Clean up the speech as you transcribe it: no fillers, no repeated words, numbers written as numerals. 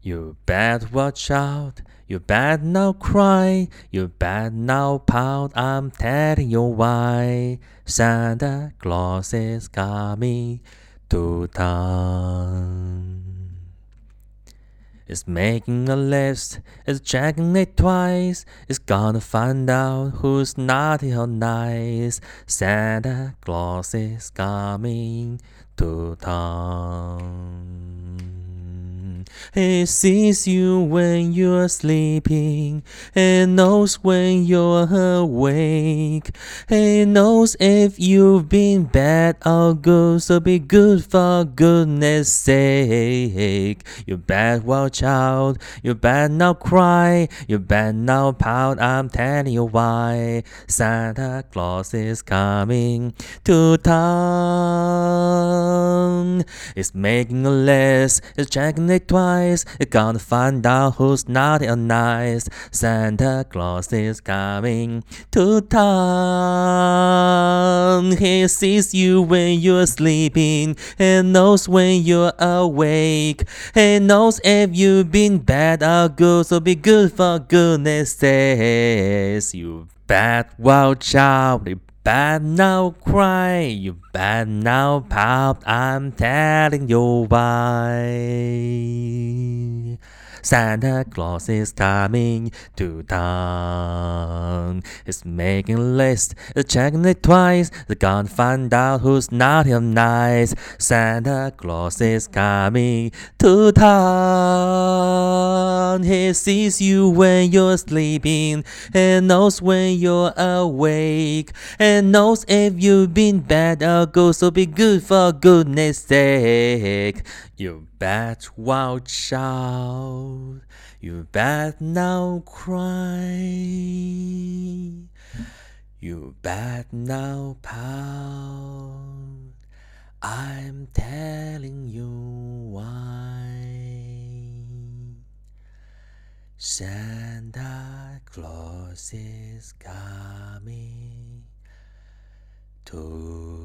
You better watch out, you better not cry, you better not pout, I'm telling you why. Santa Claus is coming to town. It's making a list, it's checking it twice, it's gonna find out who's naughty or nice. Santa Claus is coming to town. He sees you when you're sleeping, he knows when you're awake. He knows if you've been bad or good, so be good for goodness sake. You better watch out, you better not cry, you better not pout, I'm telling you why. Santa Claus is coming to town. It's making a list, it's checking it twice, it's gonna find out who's naughty or nice. Santa Claus is coming to town. He sees you when you're sleeping, he knows when you're awake. He knows if you've been bad or good, so be good for goodness sakes. You better watch out, you better not cry, you better not pout, I'm telling you why. Santa Claus is coming to town. He's making a list, he's checking it twice, they're gonna find out who's naughty or nice. Santa Claus is coming to town. He sees you when you're sleeping, he knows when you're awake, he knows if you've been bad or good, so be good for goodness sake. You better watch out, you better not cry, you better not pout, I'm telling you why. Santa Claus is coming to